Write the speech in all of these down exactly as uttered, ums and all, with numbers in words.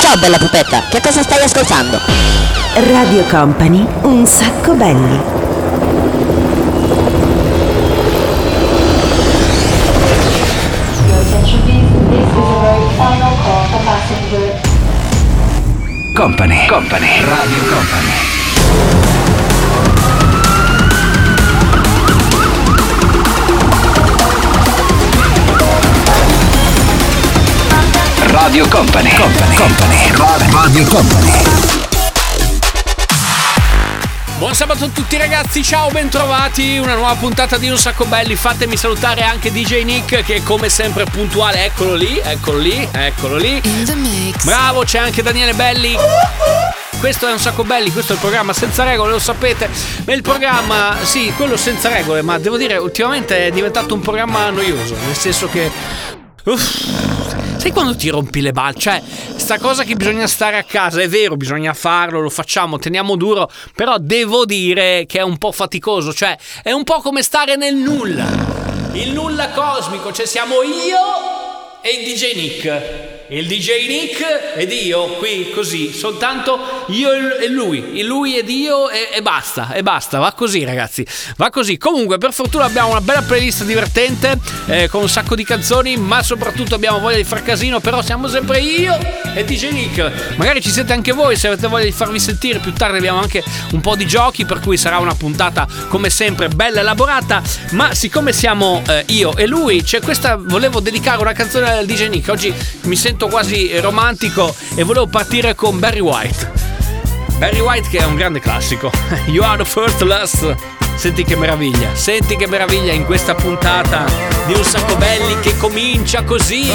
Ciao bella pupetta, che cosa stai ascoltando? Radio Company, un sacco belli. Company, Company, Radio Company. Radio Company, Company, Company, Radio Company. Buon sabato a tutti ragazzi, ciao, bentrovati, una nuova puntata di Un Sacco Belli. Fatemi salutare anche D J Nick che come sempre è puntuale, eccolo lì, eccolo lì, eccolo lì. Bravo, c'è anche Daniele Belli. Questo è Un Sacco Belli, questo è il programma senza regole, lo sapete. Ma il programma, sì, quello senza regole, ma devo dire ultimamente è diventato un programma noioso, nel senso che... Uff, sai quando ti rompi le balle? Cioè, sta cosa che bisogna stare a casa, è vero, bisogna farlo, lo facciamo, teniamo duro, però devo dire che è un po' faticoso, cioè è un po' come stare nel nulla, il nulla cosmico, cioè siamo io e il D J Nick, il D J Nick ed io qui così, soltanto io e lui, il lui ed io e, e basta, e basta, va così ragazzi, va così. Comunque per fortuna abbiamo una bella playlist divertente eh, con un sacco di canzoni, ma soprattutto abbiamo voglia di far casino, però siamo sempre io e D J Nick. Magari ci siete anche voi se avete voglia di farvi sentire, più tardi abbiamo anche un po' di giochi, per cui sarà una puntata come sempre bella elaborata, ma siccome siamo eh, io e lui, c'è questa, volevo dedicare una canzone al D J Nick, oggi mi sento quasi romantico e volevo partire con Barry White. Barry White che è un grande classico. You are the first last. Senti che meraviglia, senti che meraviglia in questa puntata di Un Sacco Belli che comincia così.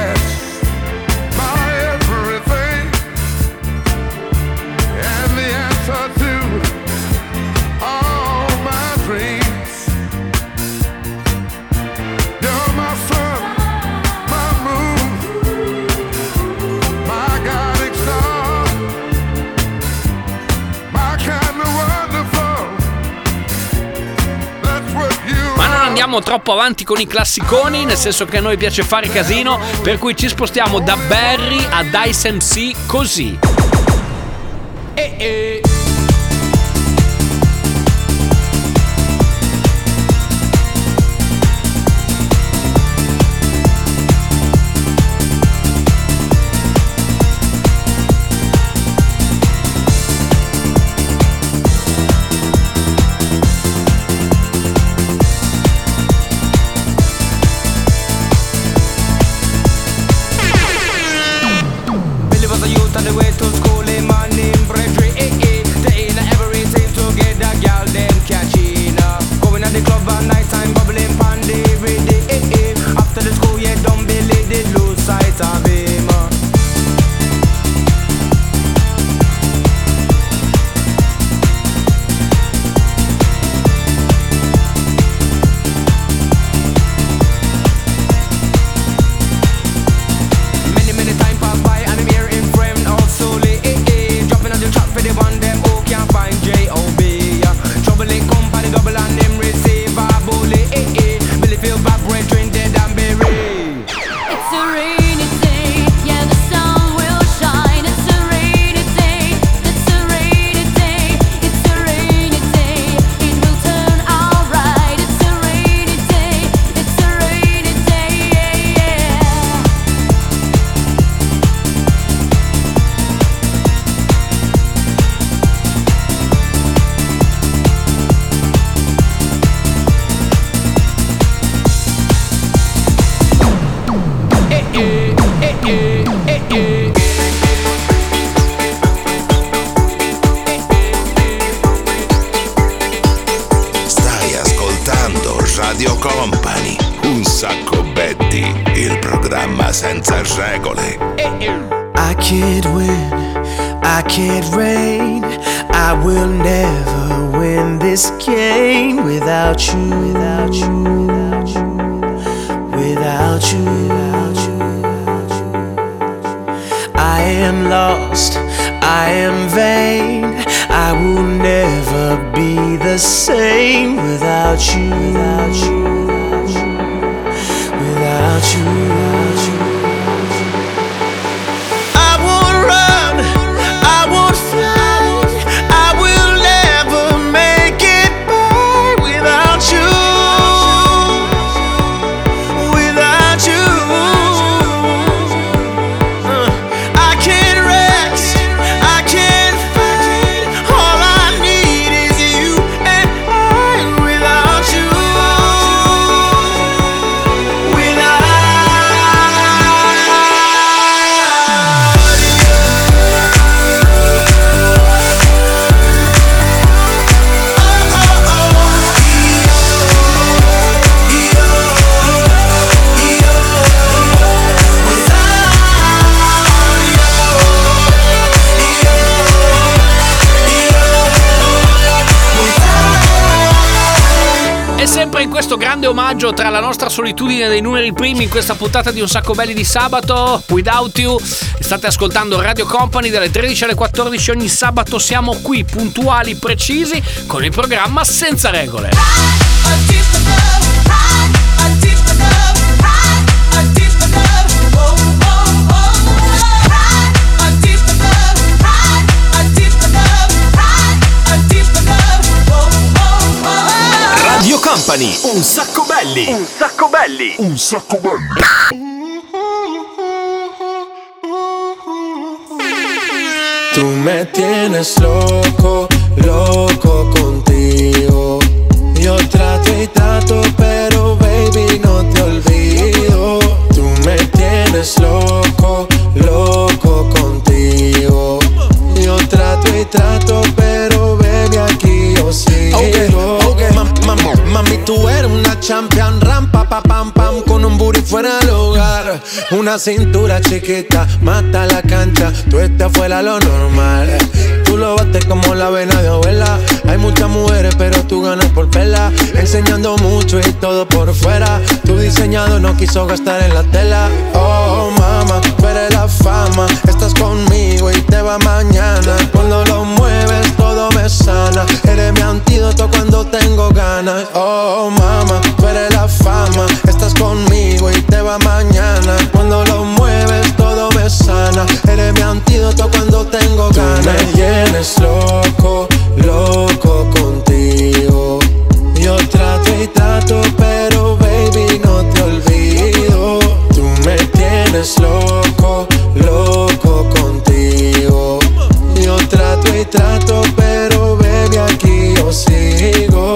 Andiamo troppo avanti con i classiconi, nel senso che a noi piace fare casino, per cui ci spostiamo da Barry a Dice M C così. E e Radio Company, Un Sacco Belli, il programma senza regole. I can't win, I can't reign, I will never win this game without you, without you, without you, without you, without you. I am lost, I am vain, I will never be the same without you, without you, without you, without you, without you. I won't run. E sempre in questo grande omaggio tra la nostra solitudine dei numeri primi in questa puntata di Un Sacco Belli di sabato, Without You, state ascoltando Radio Company dalle tredici alle quattordici ogni sabato. Siamo qui puntuali, precisi, con il programma Senza Regole. Radio Company, un sacco belli, un sacco belli, un sacco belli. Tú me tienes loco, loco contigo. Yo trato y trato, pero baby no te olvido. Tú me tienes loco, loco contigo. Yo trato y trato, pero baby aquí yo sigo. Okay, okay. Ma, ma, mami, tú eres una champion, rampa, pa, pam, pam, con un booty fuera del hogar. Una cintura chiquita, mata la cancha, tú estás fuera lo normal. Tú lo bates como la vena de abuela. Hay muchas mujeres, pero tú ganas por pela. Enseñando mucho y todo por fuera. Tu diseñado no quiso gastar en la tela. Oh, mama, tú eres la fama. Estás conmigo y te va mañana. Cuando lo mueves todo me sana. Eres mi antídoto cuando tengo ganas. Oh, mama, tú eres la fama. Estás conmigo y te va mañana. Cuando lo mueves todo me sana. Eres mi antídoto cuando tengo ganas. Tú me tienes loco, loco contigo. Yo trato y trato, pero baby no te olvido. Tú me tienes loco, loco contigo. Yo trato y trato, pero baby aquí yo sigo.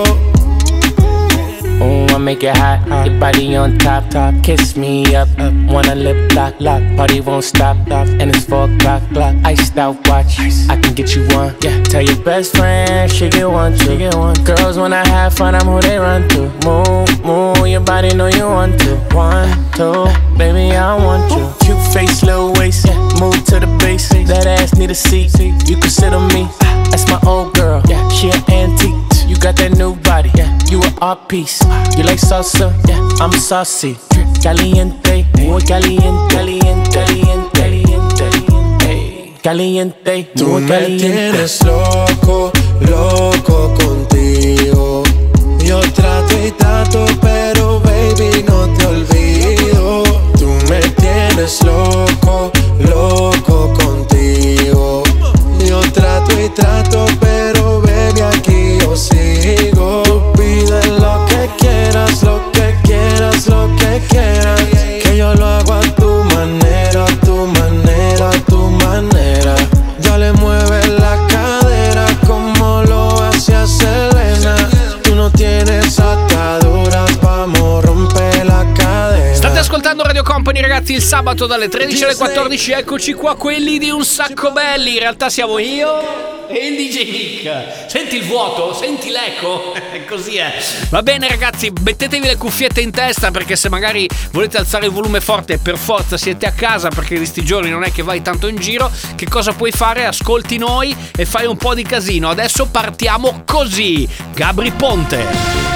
Ooh, I make it hot, hot. Your body on top, top. Kiss me up, up. Wanna lip lock, lock. Party won't stop, stop. And it's four o'clock, clock. Iced out watch. Ice. I can get you one. Yeah. Tell your best friend she get one, she get one. Girls when I have fun, I'm who they run to. Move, move. Your body know you want to. One, two, baby I want you. Cute face, little waist. Yeah. Move to the base. That ass need a seat. You can sit on me. That's my old girl. Yeah. She an antique. You got that new body, yeah. You an art piece. You like salsa, yeah. I'm saucy. Caliente, muy caliente, caliente, caliente, caliente, caliente. Tú me tienes loco, loco contigo. Yo trato y trato, pero baby no te olvido. Tú me tienes loco, loco contigo. Yo trato y trato, pero baby aquí yo sigo. Tú pides lo que quieras, lo que quieras, lo que quieras. Que yo lo hago a tu manera, a tu manera, a tu manera. Ya le mueves la cadera como lo hacía Selena. Tú no tienes ataduras, vamos a romper la cadena. State ascoltando Radio Company, ragazzi, il sabato dalle tredici alle quattordici. Eccoci qua, quelli di Un Sacco Belli. In realtà siamo io e il D J Nick. Senti il vuoto? Senti l'eco? Così è. Va bene ragazzi, mettetevi le cuffiette in testa, perché se magari volete alzare il volume forte e per forza siete a casa, perché di sti giorni non è che vai tanto in giro, che cosa puoi fare? Ascolti noi e fai un po' di casino. Adesso partiamo così. Gabry Ponte.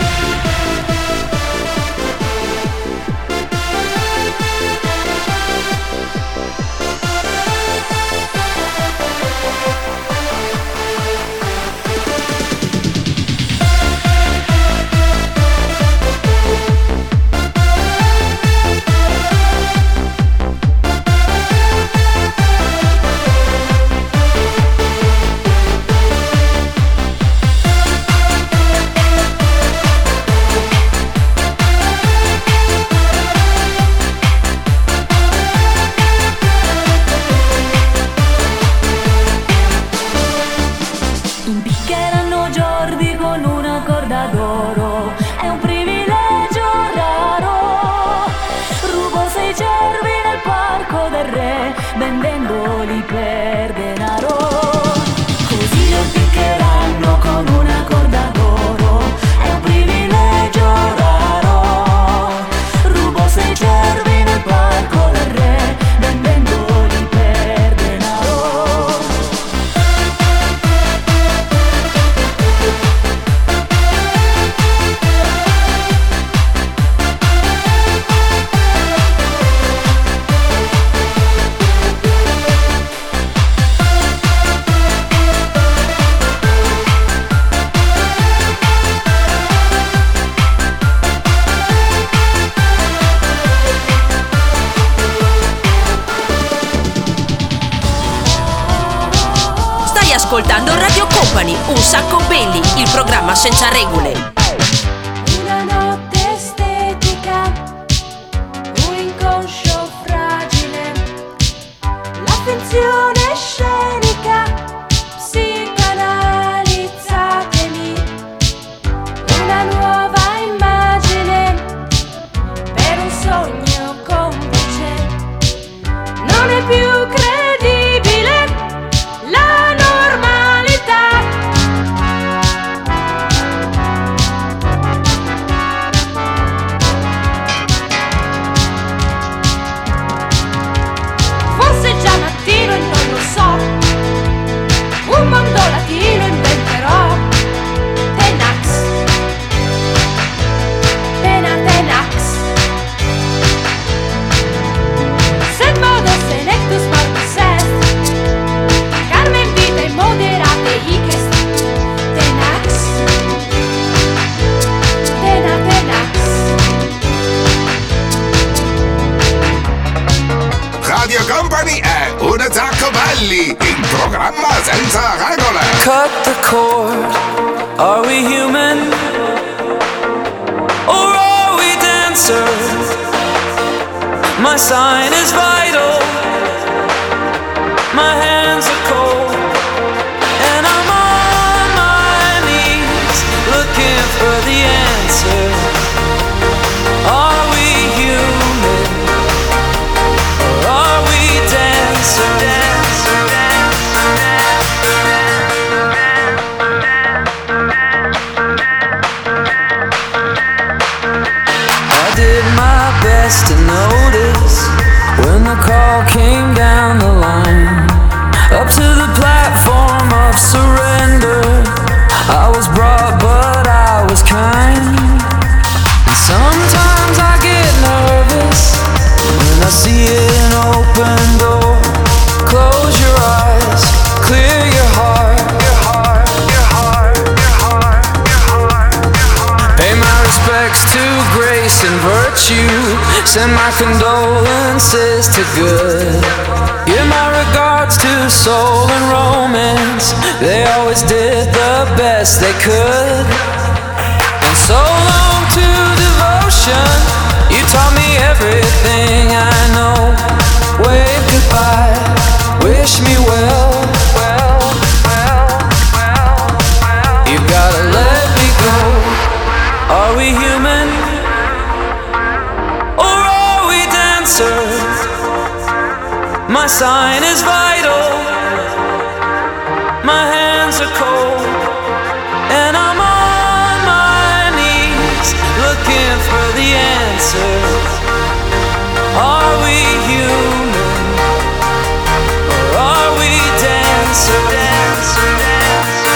My sign is vital. My hands are cold, and I'm on my knees looking for the answer. Are we human, or are we dancer? Dancer, dancer, I did my best to notice when the call came down the line, up to the platform of surrender. I was brought, but I was kind. And sometimes I get nervous when I see an open door. Close your eyes, clear your heart, your heart, your heart, your heart, your heart, your heart. Pay my respects to grace and virtue. Send my condolences to good. Give my regards to soul and romance. They always did the best they could. And so long to devotion. You taught me everything I know. Wave goodbye, wish me well, well, well, well, well. You gotta let me go. Are we human, or are we dancers? My sign is vital. My hands are cold, and I'm on my knees looking for the answer. Are we human, or are we dancer, dancer, dancer,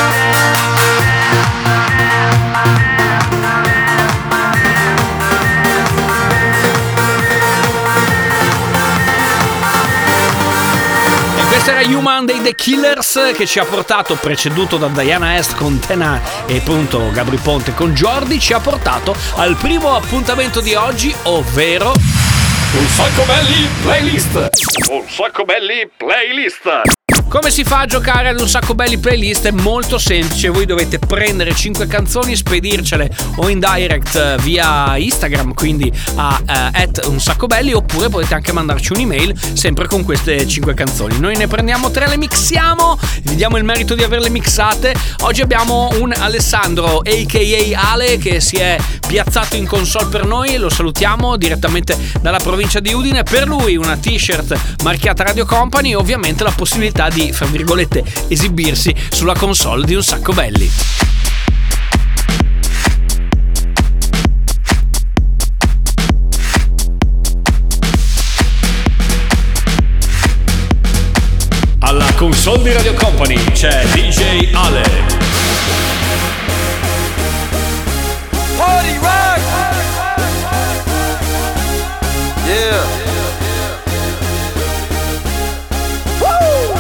Questo era Human dei The Killers, che ci ha portato, preceduto da Diana Est con Tena e appunto Gabri Ponte con Jordi, ci ha portato al primo appuntamento di oggi, ovvero Un sacco belli playlist. Un sacco belli playlist. come si fa a giocare ad Un Sacco Belli Playlist? È molto semplice, voi dovete prendere cinque canzoni, spedircele o in direct via Instagram, quindi a uh, at Un Sacco Belli, oppure potete anche mandarci un'email sempre con queste cinque canzoni. Noi ne prendiamo tre, le mixiamo, vi diamo il merito di averle mixate. Oggi abbiamo un Alessandro a k a. Ale che si è piazzato in console per noi, lo salutiamo direttamente dalla provincia di Udine. Per lui una t-shirt marchiata Radio Company e ovviamente la possibilità di, fra virgolette, esibirsi sulla console di Un Sacco Belli. Alla console di Radio Company c'è D J Ale. Party rock! Yeah! Woo!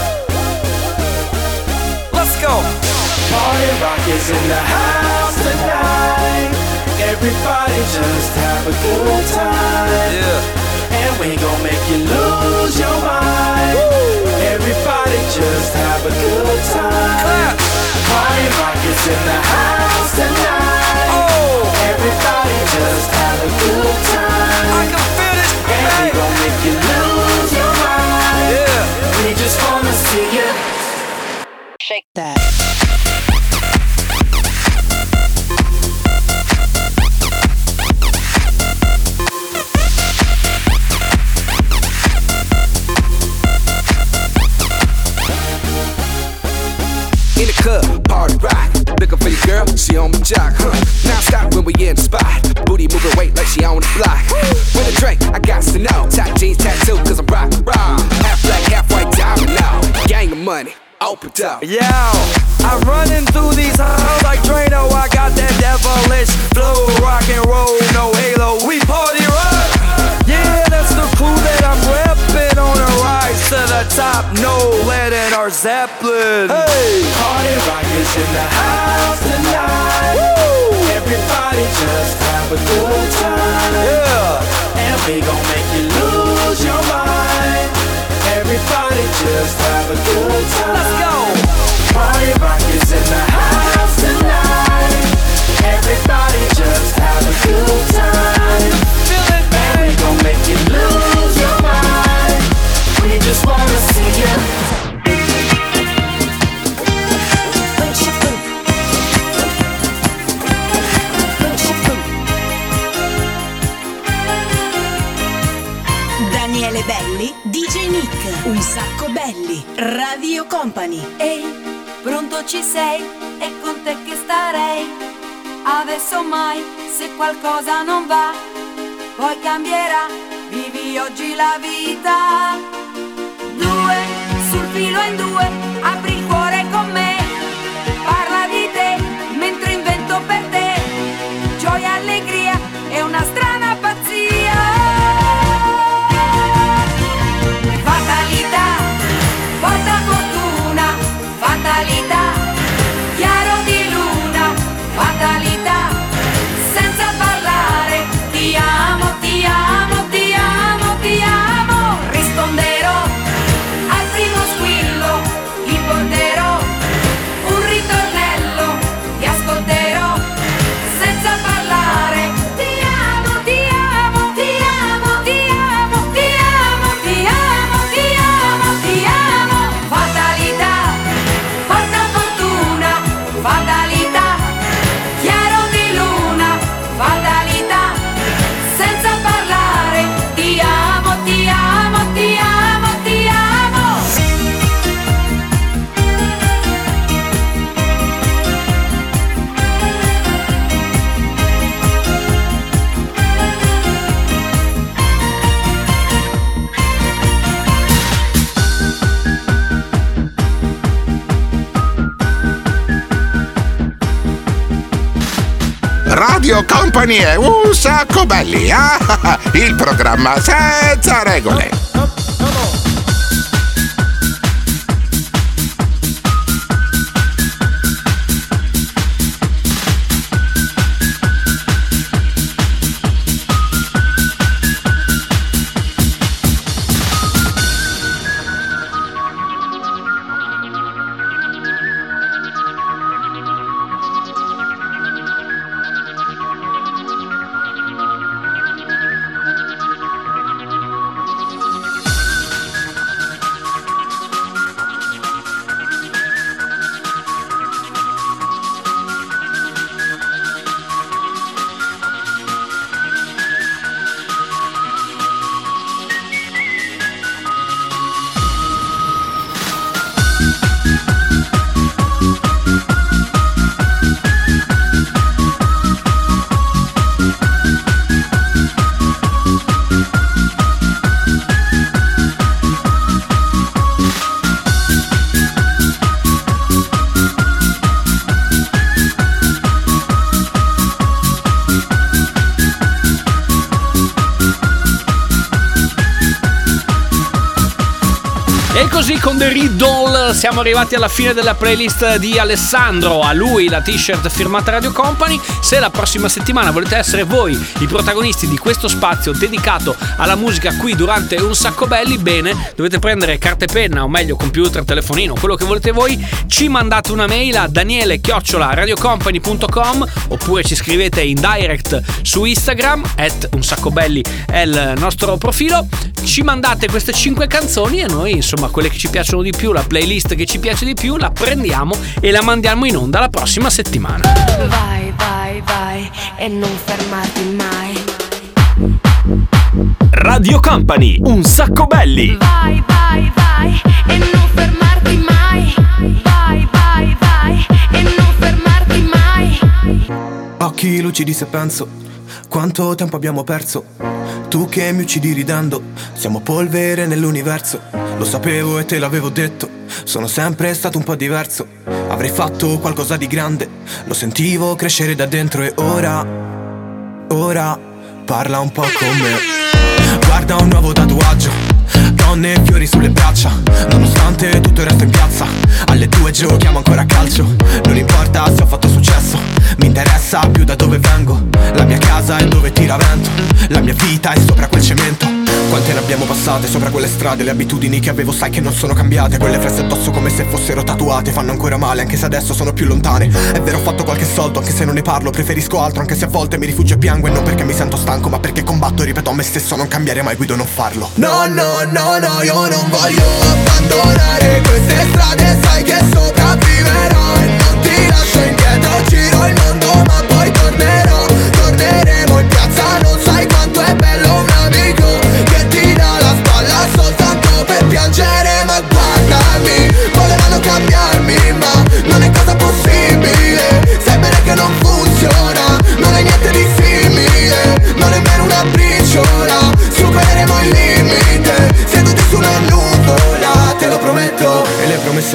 Let's go! Party rock is in the house tonight. Everybody just have a good time. Yeah! And we gon' make you lose your mind. Woo! Everybody just have a good time. Clap! Party rock is in the house tonight. Oh! Everybody just have a good time. I can feel this, And we baby! gon' make you lose your mind. Yeah! We just wanna see you Shake that. In the club, party rock. Looking for the girl, she on my jock, huh? Now stop when we in the spot. Booty moving weight like she on the block. With a drink, I got to know. Tight jeans tattoo, cause I'm rock, rock. Half black, half white diamond now. Gang of money, open up. Yo, I'm running through these halls like Drano. I got that devilish flow, rock and roll, no halo. We party rock. Yeah, that's the crew that I'm repping on a rise to the top. No lead in our Zeppelin. Hey, Party rock is in the house tonight. woo, Everybody just have a good time. yeah. And we gon' make you lose your mind. Everybody just have a good time. Let's go. Party rock is in the house tonight. Everybody just have a good time. Feel it, And we baby. gon' make you lose Un sacco belli. Radio Company. Ehi, pronto ci sei? È con te che starei. Adesso mai, se qualcosa non va, poi cambierà. Vivi oggi la vita. Due, sul filo in due, apri il cuore con me. Parla di te, mentre invento per te. Gioia, allegria e una strana pazzia. Fatalità, porta fortuna. Fatalità, chiaro di luna. Fatalità, senza parlare. Ti amo, ti amo, ti amo, ti amo. Risponderò al primo squillo, il porterò un ritornello, ti ascolterò senza parlare. Ti amo, ti amo, ti amo, ti amo, ti amo, ti amo, ti amo, ti amo. Fatalità, porta fortuna. Fatalità, chiaro di luna. Fatalità, senza parlare. Ti amo, ti amo, ti amo, ti amo. Radio Company è un sacco belli, ah, il programma senza regole. E così con The Riddle siamo arrivati alla fine della playlist di Alessandro. A lui la t-shirt firmata Radio Company. Se la prossima settimana volete essere voi i protagonisti di questo spazio dedicato alla musica qui durante Un Sacco Belli, bene, dovete prendere carta e penna, o meglio computer, telefonino, quello che volete voi. Ci mandate una mail a daniele chiocciola radiocompany punto com oppure ci scrivete in direct su Instagram at Un Sacco Belli è il nostro profilo. Ci mandate queste cinque canzoni e noi, insomma, quelle che ci piacciono di più, la playlist che ci piace di più, la prendiamo e la mandiamo in onda la prossima settimana. Vai, vai, vai e non fermarti mai. Radio Company, Un Sacco Belli. Vai, vai, vai e non fermarti mai. Vai, vai, vai e non fermarti mai. Occhi lucidi se penso quanto tempo abbiamo perso. Tu che mi uccidi ridendo, siamo polvere nell'universo. Lo sapevo e te l'avevo detto, sono sempre stato un po' diverso. Avrei fatto qualcosa di grande, lo sentivo crescere da dentro. E ora, ora, parla un po' con me. Guarda un nuovo tatuaggio, donne e fiori sulle braccia. Nonostante tutto il resto in piazza, alle due giochiamo ancora a calcio. Non importa se ho fatto successo, mi interessa più da dove vengo. La mia casa è dove tira vento, la mia vita è sopra quel cemento. Quante ne abbiamo passate sopra quelle strade, le abitudini che avevo sai che non sono cambiate. Quelle fresse addosso come se fossero tatuate, fanno ancora male anche se adesso sono più lontane. È vero, ho fatto qualche soldo anche se non ne parlo, preferisco altro anche se a volte mi rifugio e piango. E non perché mi sento stanco ma perché combatto e ripeto a me stesso non cambiare mai, guido non farlo. No, no, no, no, io non voglio abbandonare queste strade, sai che sopravviverò e non ti lascio indietro. Giro il mondo ma poi tornerò, torneremo in piazza. Non sai quanto è bello un amico che ti dà la spalla soltanto per piangere.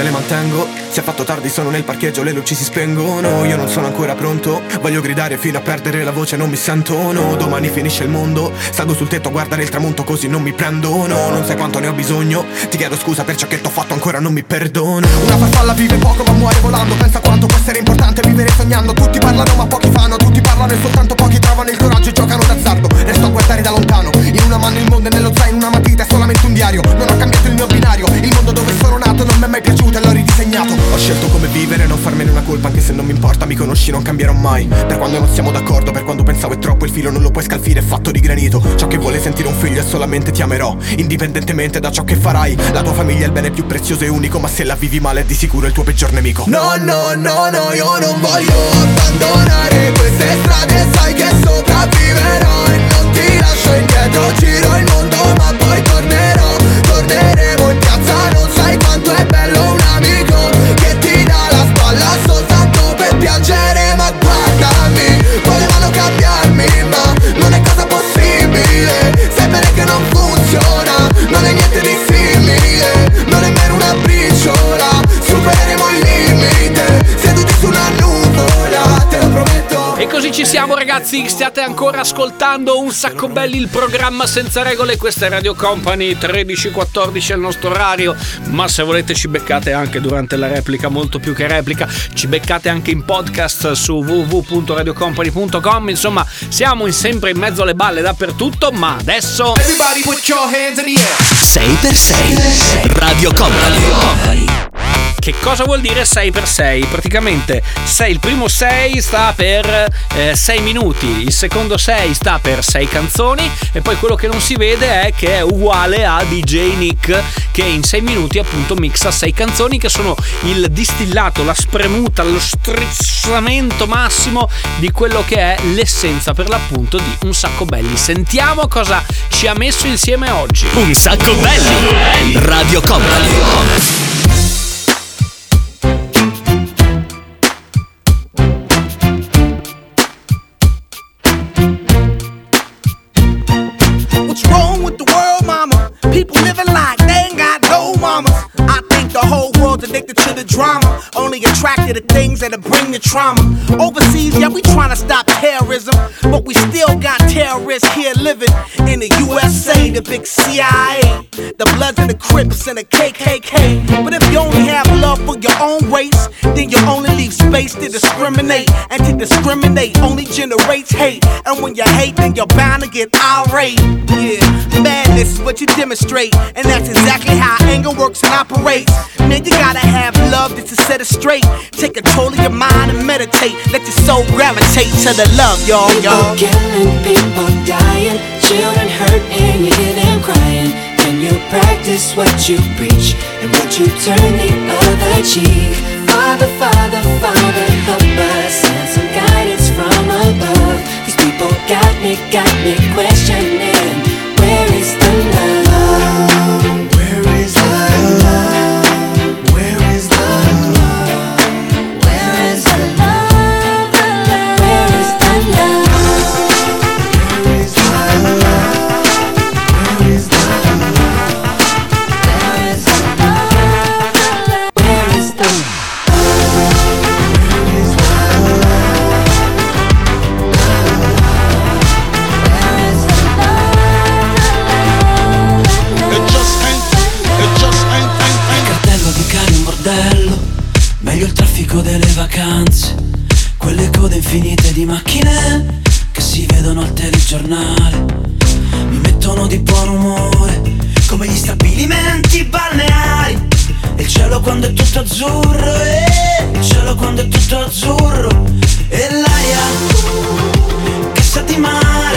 le mantengo. Si è fatto tardi, sono nel parcheggio, le luci si spengono. Io non sono ancora pronto, voglio gridare fino a perdere la voce, non mi sento, no. Domani finisce il mondo, salgo sul tetto a guardare il tramonto così non mi prendo, no. Non sai quanto ne ho bisogno, ti chiedo scusa per ciò che t'ho fatto, ancora non mi perdono. Una farfalla vive poco ma muore volando, pensa quanto può essere importante vivere sognando. Tutti parlano ma pochi fanno, tutti parlano e soltanto pochi trovano il coraggio e giocano d'azzardo. Resto a guardare da lontano, in una mano il mondo e nello zaino una matita è solamente un diario. Non ho cambiato il mio binario, il mondo dove sono nato non mi è mai piaciuto e l'ho ridisegnato. Ho scelto come vivere, non farmene una colpa anche se non mi importa. Mi conosci, non cambierò mai, per quando non siamo d'accordo, per quando pensavo è troppo, il filo non lo puoi scalfire, è fatto di granito. Ciò che vuole sentire un figlio è solamente ti amerò, indipendentemente da ciò che farai. La tua famiglia è il bene più prezioso e unico, ma se la vivi male è di sicuro il tuo peggior nemico. No, no, no, no, io non voglio abbandonare queste strade, sai che sopravviverò e non ti lascio indietro. Giro il mondo ma poi tornerò, torneremo in piazza, non sai quanto è bello un amico che ti dà la spalla soltanto per piangere. Ma guardami, volevano cambiarmi ma non è cosa possibile, sai bene che non funziona, non è niente di simile, non è nemmeno una briciola, supereremo il limite, seduti su una nuvola, te lo prometto. E così ci siamo ragazzi, stiate ancora ascoltando Un Sacco Belli, il programma senza regole. Questa è Radio Company, tredici quattordici è il nostro orario, ma se volete ci beccate anche durante la replica, molto più che replica, ci beccate anche in podcast su w w w punto radio company punto com. Insomma, siamo in sempre in mezzo alle balle dappertutto, ma adesso Everybody put your hands in the air. sei per sei Radio Company. Che cosa vuol dire sei per sei? Praticamente sei, il primo sei sta per eh, sei minuti, il secondo sei sta per sei canzoni e poi quello che non si vede è che è uguale a D J Nick che in sei minuti appunto mixa sei canzoni che sono il distillato, la spremuta, lo strizzamento massimo di quello che è l'essenza per l'appunto di Un Sacco Belli. Sentiamo cosa ci ha messo insieme oggi. Un Sacco Belli, Radio Company. People living like they ain't got no mamas. I think the whole world's addicted to the drama, only attracted to things that'll bring the trauma. Overseas, yeah, we tryna stop terrorism, but we still got terrorists here living in the U S A, the big C I A, the Bloods and the Crips and the K K K. But if you only have love for your own race, then you only leave space to discriminate, and to discriminate only generates hate. And when you hate, then you're bound to get irate. Yeah, madness is what you demonstrate, and that's exactly how anger works and operates. Man, you gotta have love just to set it straight. Take control of your mind and meditate. Let your soul gravitate to the love, y'all, y'all. People killing, people dying, children hurt and you hear them crying. Can you practice what you preach and would you turn the other cheek? Father, Father, Father, help us, send some guidance from above. These people got me, got me questioning, where is the love? Where is the love? Where is the love? Where is the love? Where is the love? Where is the love? Where is the love? Where is the love? Where is the love? Meglio il traffico delle vacanze, quelle code infinite di macchine che si vedono al telegiornale, mi mettono di buon umore come gli stabilimenti balneari. E il cielo quando è tutto azzurro, eh, il cielo quando è tutto azzurro, e l'aria che sa di mare,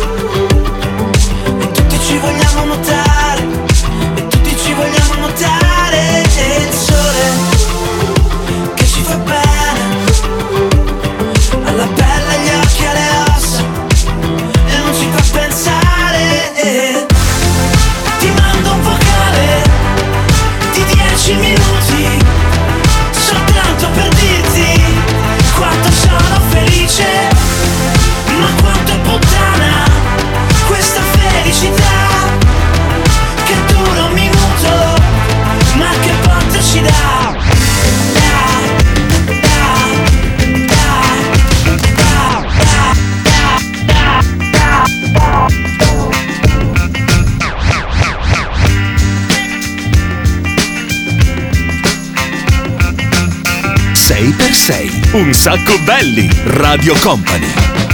e tutti ci vogliamo nuotare, e tutti ci vogliamo nuotare, e il sole che ci fa bene alla pelle, agli occhi, alle ossa, e non ci fa pensare, eh. Ti mando un vocale di dieci minuti soltanto per dirti quanto sono felice, ma quanto sei. Un sacco belli. Radio Company.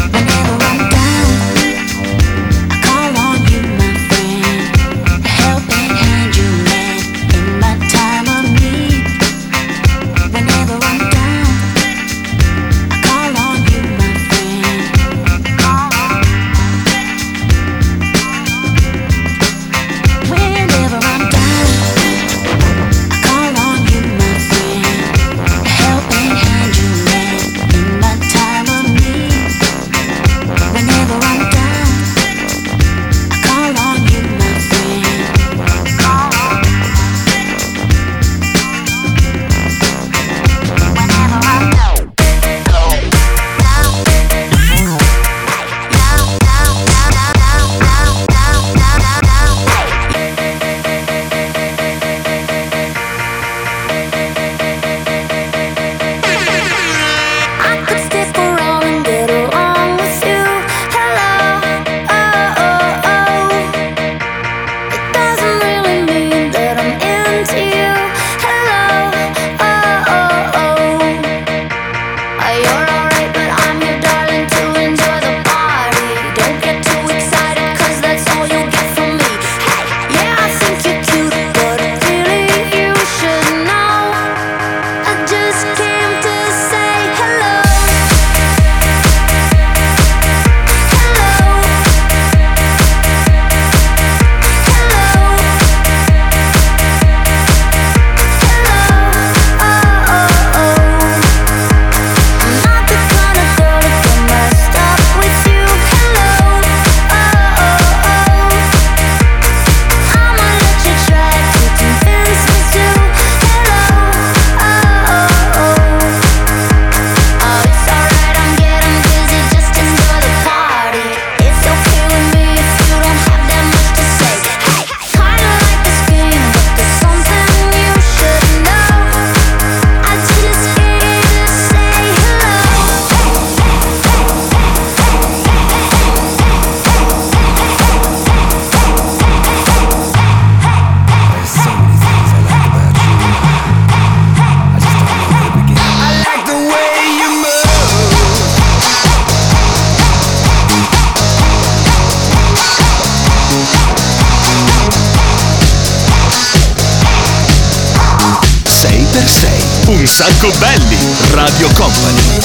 Un sacco belli. Radio Company.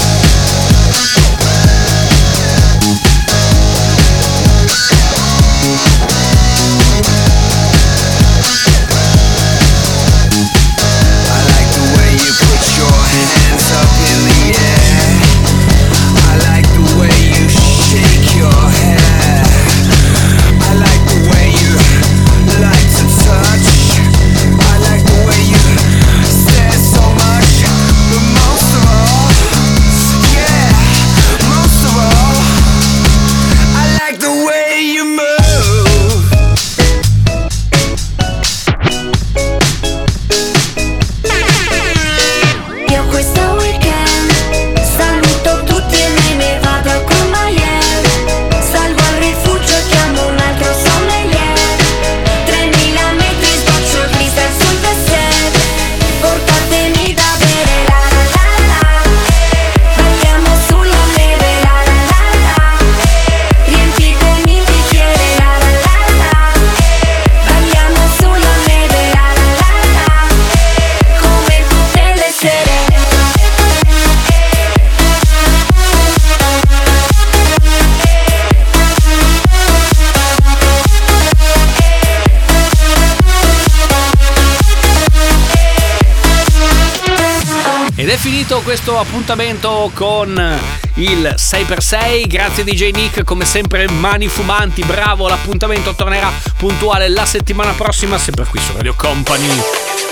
Questo appuntamento con il sei per sei, grazie D J Nick, come sempre mani fumanti, bravo. L'appuntamento tornerà puntuale la settimana prossima, sempre qui su Radio Company.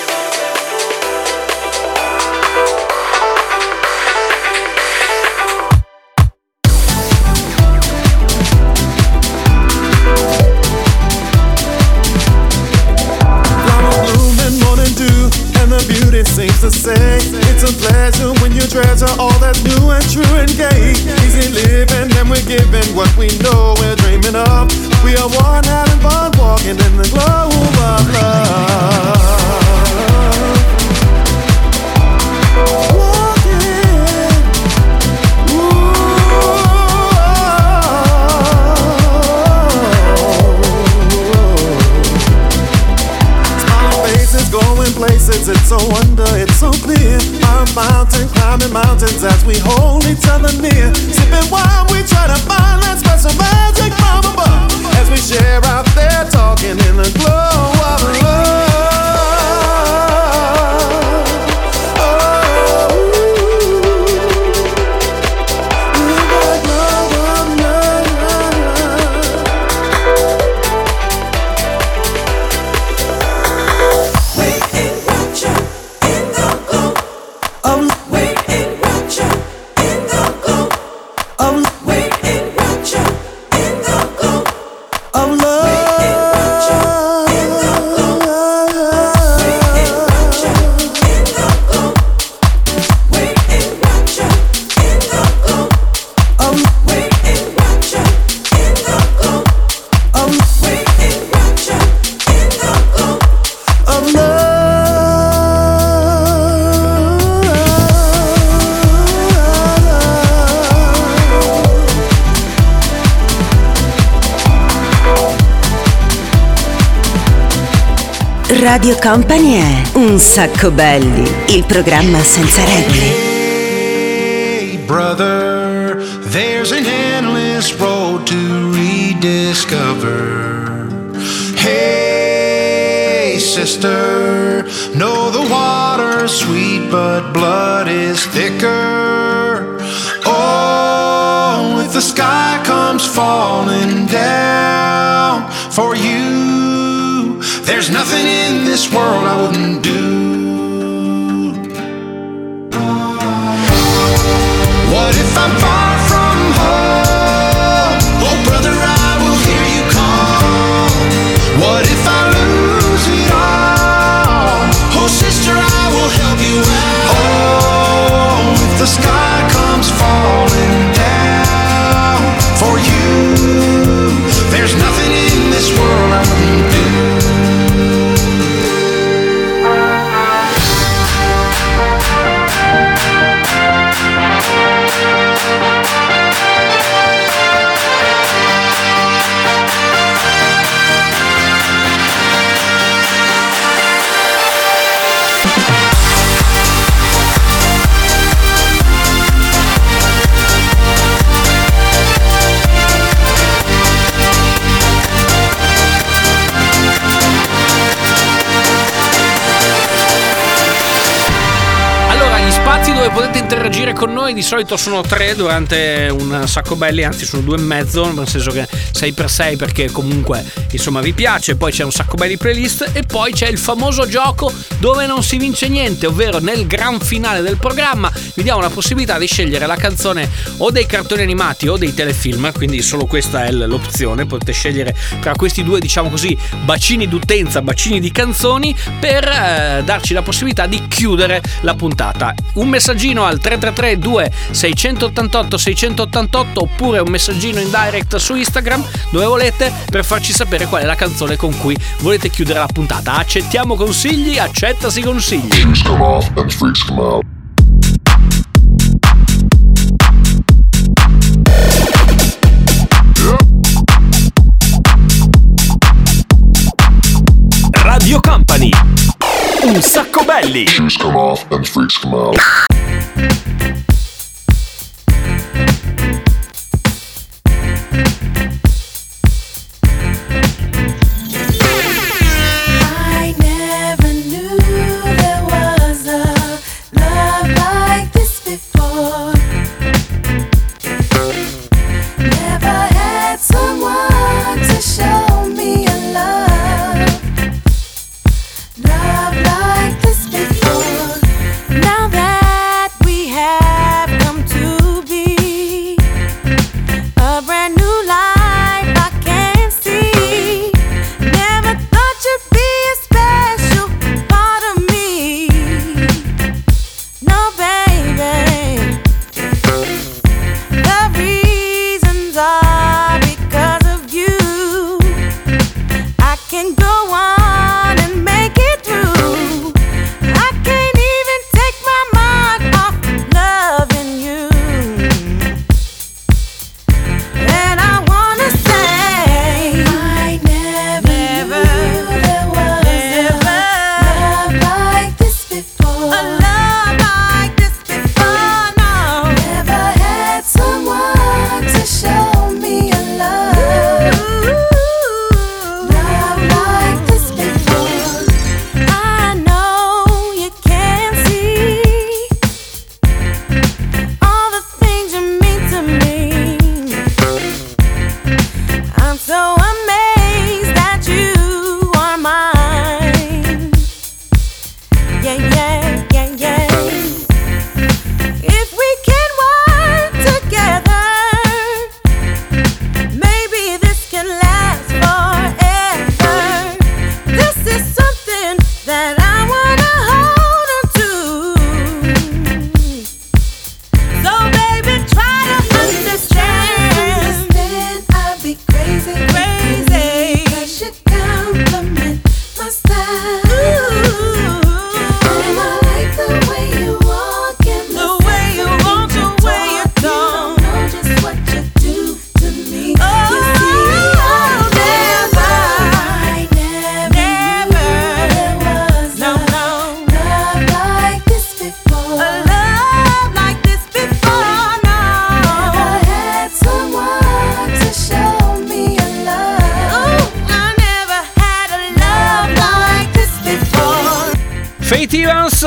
Seems to say it's a pleasure when you treasure all that's new and true and gay. Easy living and we're giving what we know we're dreaming of. We are one having fun walking in the glow of love. Walking no wonder it's so clear. Our mountain climbing mountains as we hold each other near. Sipping wine, we try to find that special magic from above. As we share out there talking in the glow of love. Radio Company è Un Sacco Belli, il programma senza regole. Hey brother, there's an endless road to rediscover. Hey sister, know the water's sweet but blood is thicker. Oh, if the sky comes falling down for you, there's nothing in this world I wouldn't do. What if I'm far from home? Oh brother, I will hear you call. What if I lose it all? Oh sister, I will help you out. Oh, if the sky comes falling down for you, there's nothing in this world I wouldn't do. Dove potete interagire con noi di solito sono tre durante un sacco belli, anzi sono due e mezzo, nel senso che sei per sei perché comunque insomma vi piace. Poi c'è un sacco belli playlist e poi c'è il famoso gioco dove non si vince niente, ovvero nel gran finale del programma vi diamo la possibilità di scegliere la canzone o dei cartoni animati o dei telefilm, quindi solo questa è l'opzione, potete scegliere tra questi due, diciamo così, bacini d'utenza, bacini di canzoni per eh, darci la possibilità di chiudere la puntata. Un messaggino al tre tre tre due sei otto otto sei otto otto oppure un messaggino in direct su Instagram dove volete per farci sapere qual è la canzone con cui volete chiudere la puntata. Accettiamo consigli, accettasi consigli. Shoes come off and freaks come out. Radio Company, Un Sacco Belli. Shoes come off and freaks come out. Love like this before. Now that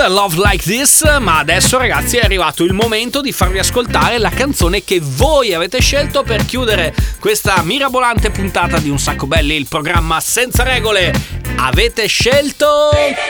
Love Like This, ma adesso ragazzi è arrivato il momento di farvi ascoltare la canzone che voi avete scelto per chiudere questa mirabolante puntata di Un Sacco Belli, il programma senza regole. Avete scelto...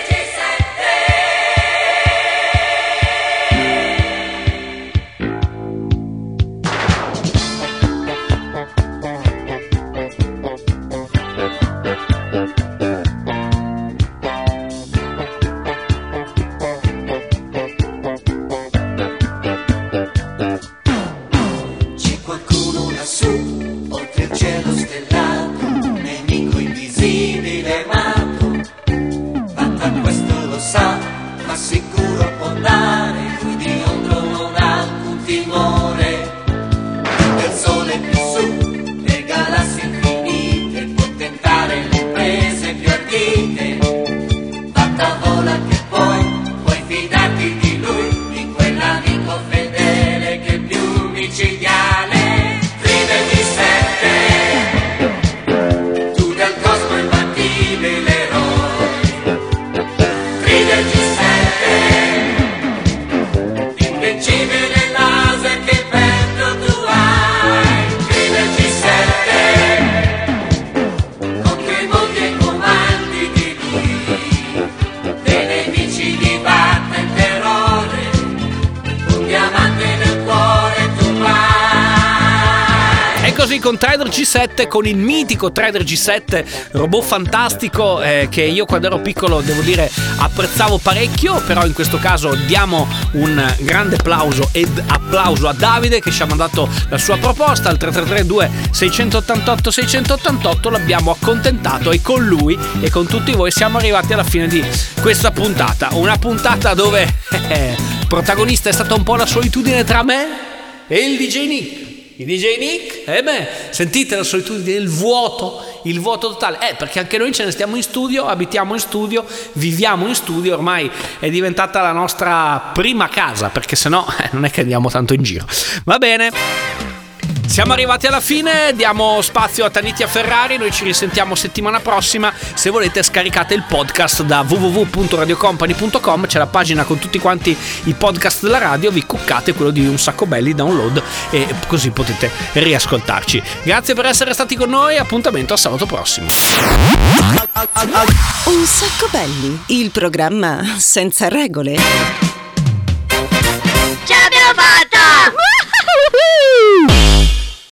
Con Trader G sette, con il mitico Trader G sette, robot fantastico eh, che io quando ero piccolo devo dire apprezzavo parecchio, però in questo caso diamo un grande applauso ed applauso a Davide che ci ha mandato la sua proposta al tre tre tre due sei otto otto sei otto otto, l'abbiamo accontentato e con lui e con tutti voi siamo arrivati alla fine di questa puntata, una puntata dove eh, protagonista è stata un po' la solitudine tra me e il D J Nick. Il D J Nick, eh beh, sentite la solitudine, il vuoto, il vuoto totale. Eh, perché anche noi ce ne stiamo in studio, abitiamo in studio, viviamo in studio, ormai è diventata la nostra prima casa, perché sennò eh, non è che andiamo tanto in giro. Va bene. Siamo arrivati alla fine, diamo spazio a Tanitia Ferrari, noi ci risentiamo settimana prossima. Se volete scaricate il podcast da w w w punto radio company punto com, c'è la pagina con tutti quanti i podcast della radio, vi cuccate quello di Un Sacco Belli, download e così potete riascoltarci. Grazie per essere stati con noi, appuntamento a sabato prossimo. Un Sacco Belli, il programma senza regole.